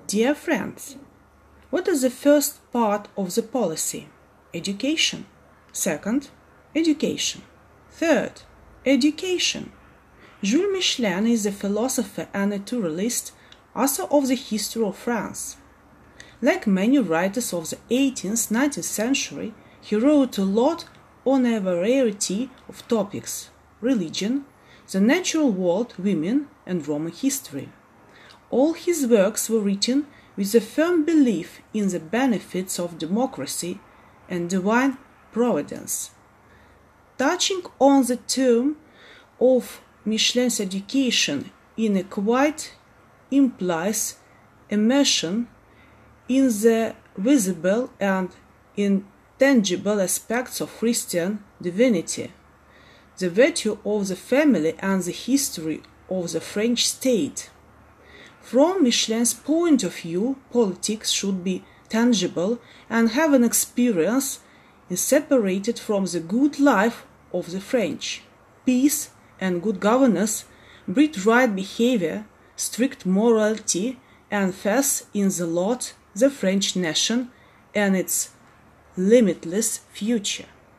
Dear friends, what is the first part of the policy? Education. Second, education. Third, education. Jules Michelin is a philosopher and naturalist, author of the history of France. Like many writers of the 18th, 19th century, he wrote a lot on a variety of topics: religion, the natural world, women, and Roman history. All his works were written with a firm belief in the benefits of democracy and divine providence. Touching on the term of Michelin's education inequite implies immersion in the visible and intangible aspects of Christian divinity, the virtue of the family and the history of the French state. From Michelin's point of view, politics should be tangible and have an experience inseparated from the good life of the French. Peace and good governance breed right behavior, strict morality, and faith in the Lord, the French nation, and its limitless future.